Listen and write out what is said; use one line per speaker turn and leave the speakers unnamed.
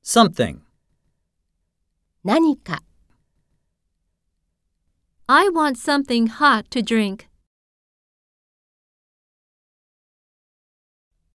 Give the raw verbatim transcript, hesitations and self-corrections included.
something.
何か
I want something hot to drink.